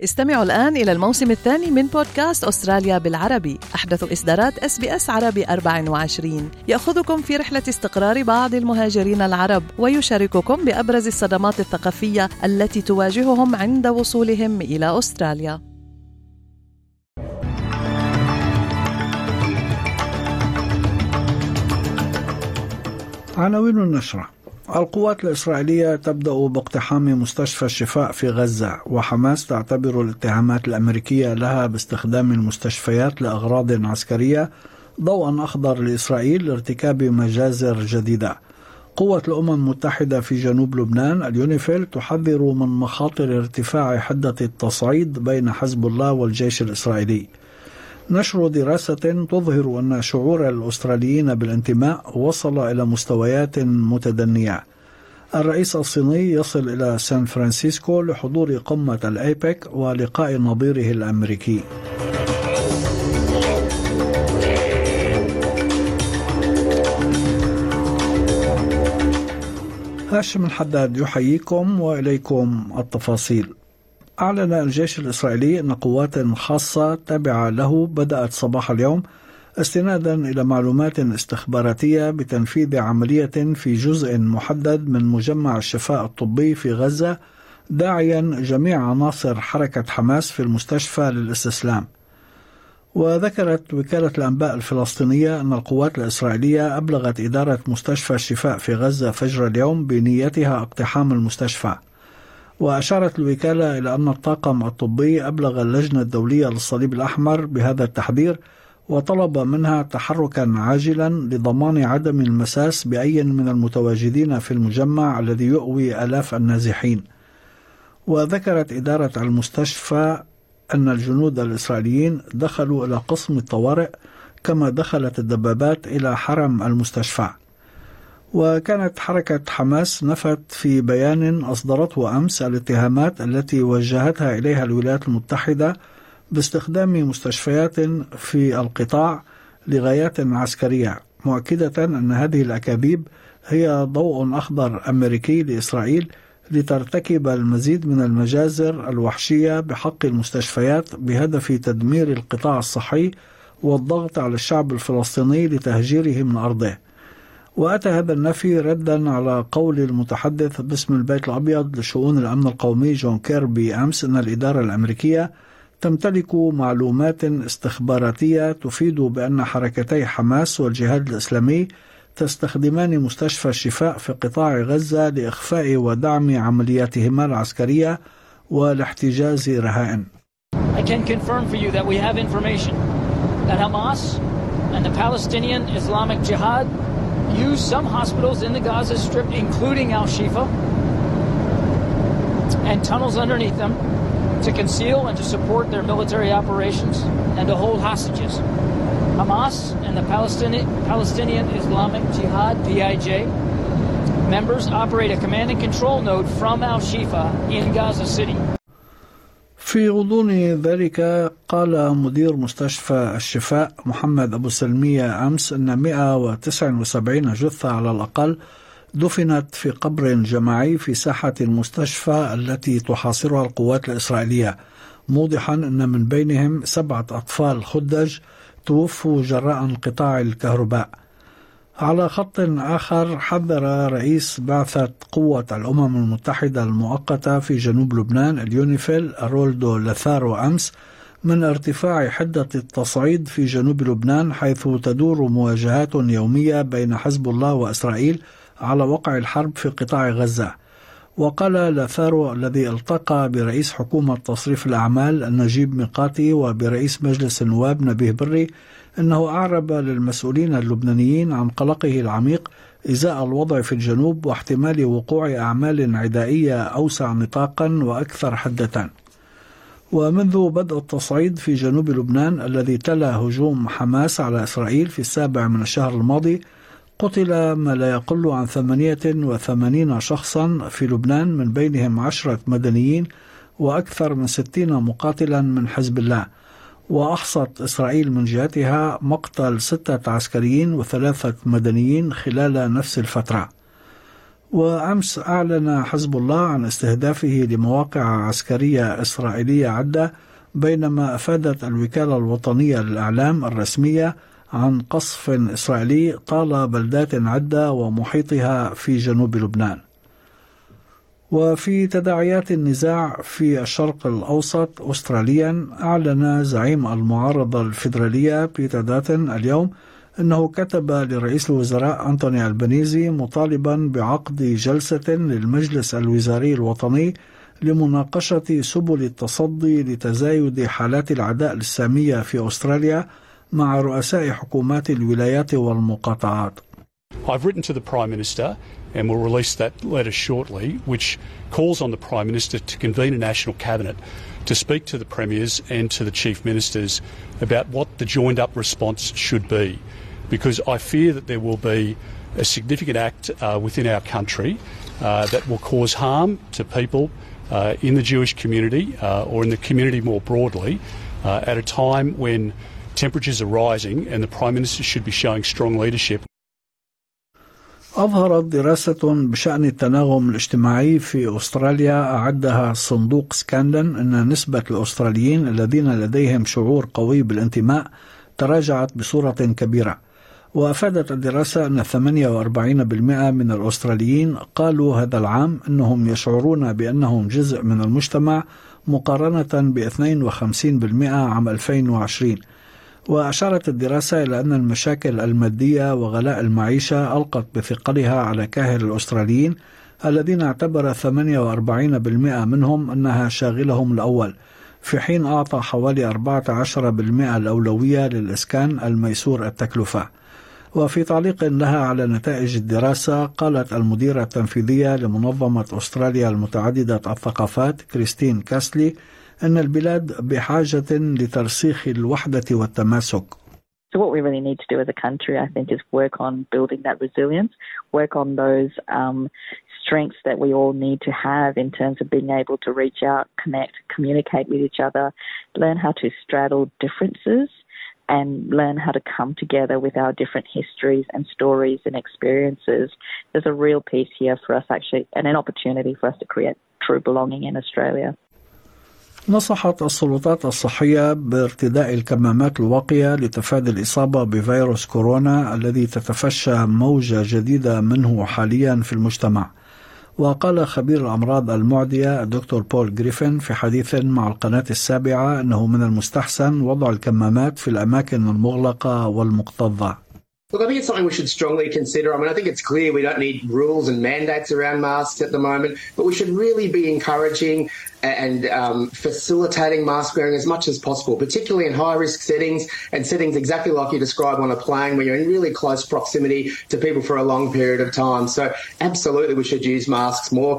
استمعوا الآن إلى الموسم الثاني من بودكاست أستراليا بالعربي، أحدث إصدارات SBS عربي 24، يأخذكم في رحلة استقرار بعض المهاجرين العرب ويشارككم بأبرز الصدمات الثقافية التي تواجههم عند وصولهم إلى أستراليا. عناوين النشرة: القوات الإسرائيلية تبدأ باقتحام مستشفى الشفاء في غزة، وحماس تعتبر الاتهامات الأمريكية لها باستخدام المستشفيات لأغراض عسكرية ضوءا أخضر لإسرائيل لارتكاب مجازر جديدة. قوة الأمم المتحدة في جنوب لبنان اليونيفيل تحذر من مخاطر ارتفاع حدة التصعيد بين حزب الله والجيش الإسرائيلي. نشر دراسة تظهر أن شعور الأستراليين بالانتماء وصل إلى مستويات متدنية. الرئيس الصيني يصل إلى سان فرانسيسكو لحضور قمة الأيبك ولقاء نظيره الأمريكي. هاشم الحداد يحييكم وإليكم التفاصيل. أعلن الجيش الإسرائيلي أن قوات خاصة تابعة له بدأت صباح اليوم استنادا إلى معلومات استخباراتية بتنفيذ عملية في جزء محدد من مجمع الشفاء الطبي في غزة، داعيا جميع عناصر حركة حماس في المستشفى للاستسلام. وذكرت وكالة الأنباء الفلسطينية أن القوات الإسرائيلية أبلغت إدارة مستشفى الشفاء في غزة فجر اليوم بنيتها اقتحام المستشفى. وأشارت الوكالة إلى أن الطاقم الطبي أبلغ اللجنة الدولية للصليب الأحمر بهذا التحذير، وطلب منها تحركا عاجلا لضمان عدم المساس بأي من المتواجدين في المجمع الذي يؤوي آلاف النازحين. وذكرت إدارة المستشفى أن الجنود الإسرائيليين دخلوا إلى قسم الطوارئ، كما دخلت الدبابات إلى حرم المستشفى. وكانت حركة حماس نفت في بيان أصدرته أمس الاتهامات التي وجهتها إليها الولايات المتحدة باستخدام مستشفيات في القطاع لغايات عسكرية، مؤكدة أن هذه الأكاذيب هي ضوء أخضر أمريكي لإسرائيل لترتكب المزيد من المجازر الوحشية بحق المستشفيات بهدف تدمير القطاع الصحي والضغط على الشعب الفلسطيني لتهجيره من أرضه. وأتى هذا النفي ردا على قول المتحدث باسم البيت الأبيض لشؤون الأمن القومي جون كيربي أمس أن الإدارة الأمريكية تمتلك معلومات استخباراتية تفيد بأن حركتي حماس والجهاد الإسلامي تستخدمان مستشفى الشفاء في قطاع غزة لإخفاء ودعم عملياتهما العسكرية والاحتجاز رهائن. I can confirm for you that we have information that Hamas and the Palestinian Islamic Jihad use some hospitals in the Gaza Strip, including Al-Shifa, and tunnels underneath them to conceal and to support their military operations and to hold hostages. Hamas and the Palestinian Islamic Jihad, PIJ, members operate a command and control node from Al-Shifa in Gaza City. في غضون ذلك قال مدير مستشفى الشفاء محمد أبو سلمية أمس أن 179 جثة على الأقل دفنت في قبر جماعي في ساحة المستشفى التي تحاصرها القوات الإسرائيلية، موضحا أن من بينهم 7 أطفال خدج توفوا جراء انقطاع الكهرباء. على خط آخر حذر رئيس بعثة قوة الأمم المتحدة المؤقتة في جنوب لبنان اليونيفيل رولدو لثارو أمس من ارتفاع حدة التصعيد في جنوب لبنان، حيث تدور مواجهات يومية بين حزب الله وإسرائيل على وقع الحرب في قطاع غزة. وقال لثارو الذي التقى برئيس حكومة تصريف الأعمال نجيب ميقاتي وبرئيس مجلس النواب نبيه بري أنه أعرب للمسؤولين اللبنانيين عن قلقه العميق إزاء الوضع في الجنوب واحتمال وقوع أعمال عدائية أوسع نطاقا وأكثر حدة. ومنذ بدء التصعيد في جنوب لبنان الذي تلا هجوم حماس على إسرائيل في 7 من الشهر الماضي، قتل ما لا يقل عن 88 شخصا في لبنان، من بينهم 10 مدنيين وأكثر من 60 مقاتلا من حزب الله. وأحصت إسرائيل من جهتها مقتل 6 عسكريين و3 مدنيين خلال نفس الفترة. وأمس أعلن حزب الله عن استهدافه لمواقع عسكرية إسرائيلية عدة، بينما أفادت الوكالة الوطنية للإعلام الرسمية عن قصف إسرائيلي طال بلدات عدة ومحيطها في جنوب لبنان. وفي تداعيات النزاع في الشرق الأوسط أستراليا، أعلن زعيم المعارضة الفيدرالية بيتر داتن اليوم أنه كتب لرئيس الوزراء أنتوني ألبانيزي مطالبا بعقد جلسة للمجلس الوزاري الوطني لمناقشة سبل التصدي لتزايد حالات العداء السامية في أستراليا مع رؤساء حكومات الولايات والمقاطعات. I've written to the Prime Minister and will release that letter shortly, which calls on the Prime Minister to convene a national cabinet to speak to the Premiers and to the Chief Ministers about what the joined-up response should be, because I fear that there will be a significant act within our country that will cause harm to people in the Jewish community or in the community more broadly at a time when temperatures are rising and the Prime Minister should be showing strong leadership. أظهرت دراسة بشأن التناغم الاجتماعي في أستراليا أعدها صندوق سكاندن أن نسبة الأستراليين الذين لديهم شعور قوي بالانتماء تراجعت بصورة كبيرة. وأفادت الدراسة أن 48% من الأستراليين قالوا هذا العام أنهم يشعرون بأنهم جزء من المجتمع مقارنة ب 52% عام 2020. وأشارت الدراسة إلى أن المشاكل المادية وغلاء المعيشة ألقت بثقلها على كاهل الأستراليين الذين اعتبر 48% منهم أنها شاغلهم الأول، في حين أعطى حوالي 14% الأولوية للإسكان الميسور التكلفة. وفي تعليق لها على نتائج الدراسة، قالت المديرة التنفيذية لمنظمة أستراليا المتعددة الثقافات كريستين كاسلي أن البلاد بحاجة لترسيخ الوحدة والتماسك. So what we really need to do as a country, I think, is work on building that resilience, work on those strengths that we all need to have in terms of being able to reach out, connect, communicate with each other, learn how to straddle differences and learn how to come together with our different histories and stories and experiences. There's a real piece here for us actually, and an opportunity for us to create true belonging in Australia. نصحت السلطات الصحية بارتداء الكمامات الواقية لتفادي الإصابة بفيروس كورونا الذي تتفشى موجة جديدة منه حاليا في المجتمع. وقال خبير الأمراض المعدية الدكتور بول جريفن في حديث مع القناة السابعة أنه من المستحسن وضع الكمامات في الأماكن المغلقة والمكتظة. Look, I think it's something we should strongly consider. I mean, I think it's clear we don't need rules and mandates around masks at the moment, but we should really be encouraging and facilitating mask wearing as much as possible, particularly in high-risk settings and settings exactly like you described on a plane where you're in really close proximity to people for a long period of time. So absolutely we should use masks more.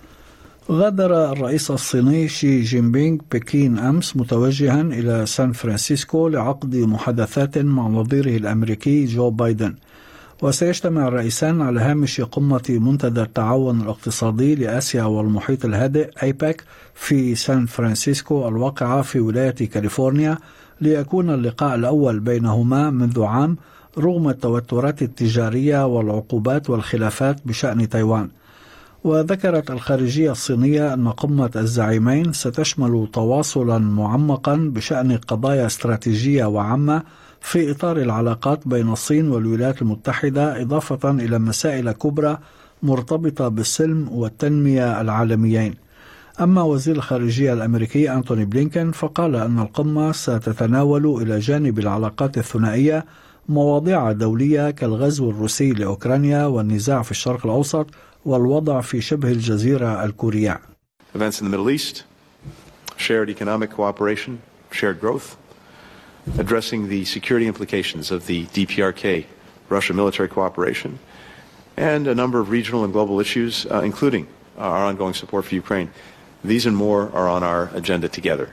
غادر الرئيس الصيني شي جين بينغ بكين أمس متوجها إلى سان فرانسيسكو لعقد محادثات مع نظيره الأمريكي جو بايدن. وسيجتمع الرئيسان على هامش قمة منتدى التعاون الاقتصادي لآسيا والمحيط الهادئ أيباك في سان فرانسيسكو الواقعة في ولاية كاليفورنيا، ليكون اللقاء الأول بينهما منذ عام رغم التوترات التجارية والعقوبات والخلافات بشأن تايوان. وذكرت الخارجية الصينية أن قمة الزعيمين ستشمل تواصلا معمقا بشأن قضايا استراتيجية وعامة في إطار العلاقات بين الصين والولايات المتحدة، إضافة إلى مسائل كبرى مرتبطة بالسلم والتنمية العالميين. أما وزير الخارجية الأمريكي أنتوني بلينكن فقال أن القمة ستتناول إلى جانب العلاقات الثنائية مواضيع دولية كالغزو الروسي لأوكرانيا والنزاع في الشرق الأوسط والوضع في شبه الجزيرة الكورية. Events in the Middle East, shared economic cooperation, shared growth, addressing the security implications of the DPRK, Russia military cooperation, and a number of regional and global issues, including our ongoing support for Ukraine. These and more are on our agenda together.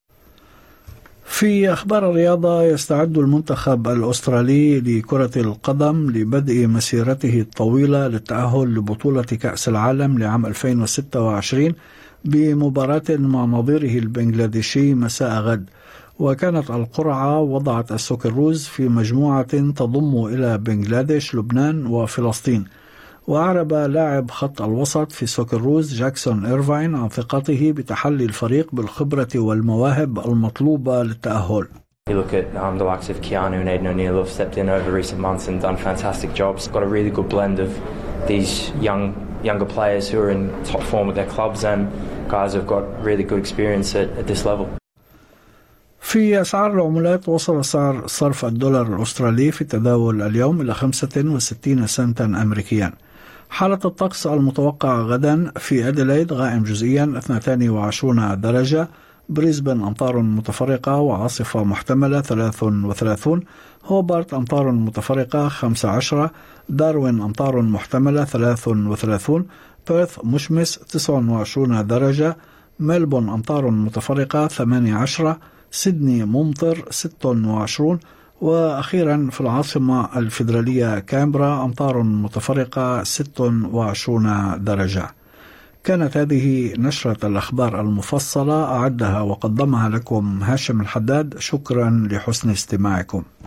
في أخبار الرياضة، يستعد المنتخب الأسترالي لكرة القدم لبدء مسيرته الطويلة للتأهل لبطولة كأس العالم لعام 2026 بمباراة مع نظيره البنغلاديشي مساء غد. وكانت القرعة وضعت السوكروز في مجموعة تضم إلى بنغلاديش، لبنان وفلسطين. وأعرب لاعب خط الوسط في سوكروز جاكسون إيرفاين عن ثقته بتحلي الفريق بالخبرة والمواهب المطلوبة للتأهل. You look at the likes of Keanu and Aiden O'Neill who have stepped in over recent months and done fantastic jobs. Got a really good blend of these younger players who are in top form with their clubs and guys who've got really good experience at this level. في أسعار العملات، وصل سعر صرف الدولار الأسترالي في التداول اليوم إلى 65 سنتا أمريكيا. حالة الطقس المتوقع غدا: في أديلايد غائم جزئيا 22 درجة، بريسبن أمطار متفرقة وعاصفة محتملة 33، هوبارت أمطار متفرقة 15، داروين أمطار محتملة 33، بيرث مشمس 29 درجة، ملبون أمطار متفرقة 18، سيدني ممطر 26، وأخيرا في العاصمة الفيدرالية كامبرا أمطار متفرقة 26 درجة. كانت هذه نشرة الأخبار المفصلة، أعدها وقدمها لكم هاشم الحداد. شكرا لحسن استماعكم.